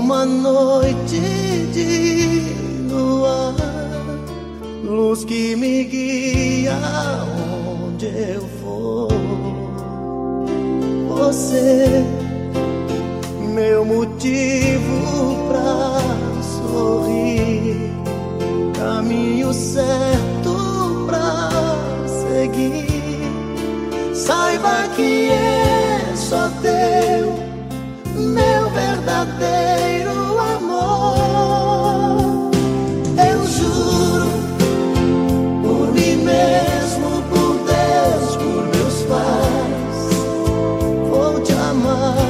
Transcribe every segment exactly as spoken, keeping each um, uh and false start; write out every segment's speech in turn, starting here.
uma noite de lua, luz que me guia onde eu for. Você, meu motivo pra sorrir, caminho certo pra seguir. Saiba que é só teu, meu verdadeiro amor. Eu juro, por mim mesmo, por Deus, por meus pais, vou te amar.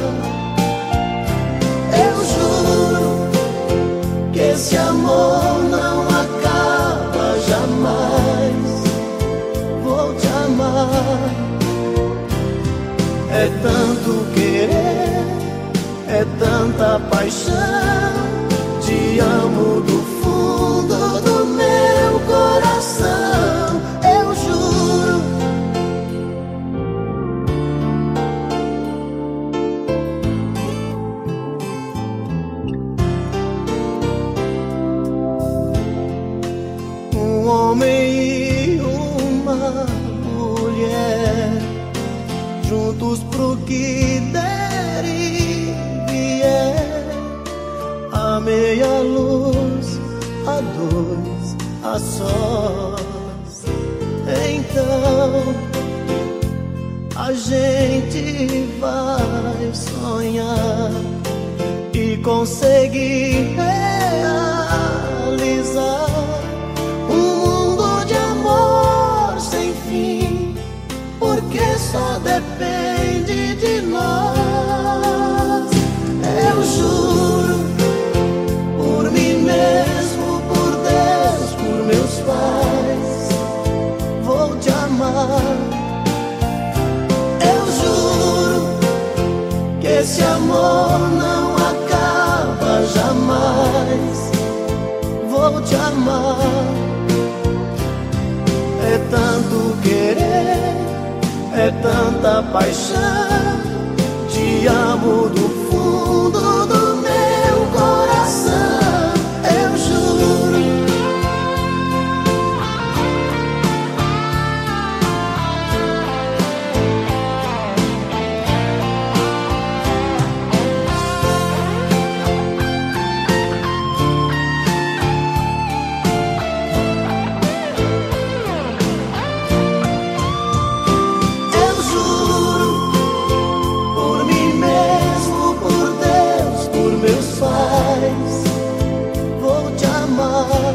Eu juro que esse amor não acaba jamais. Vou te amar. É tanto querer, é tanta paixão. Te amo do fundo do meu coração. Eu juro. Um homem e uma mulher, juntos pro que der e vier, a meia luz, a dois, a sós. Então a gente vai sonhar e conseguir realizar um mundo de amor sem fim, porque só depende de nós. Eu juro, por mim mesmo, por Deus, por meus pais, vou te amar. Eu juro que esse amor não acaba jamais. Vou te amar. É tanto querer, é tanta paixão. Te amo do fundo do meu coração. Eu juro. Vou te amar.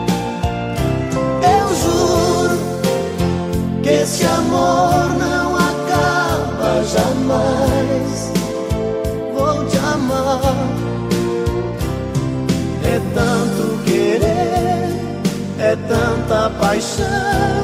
Eu juro que esse amor não acaba jamais. Vou te amar. É tanto querer, é tanta paixão.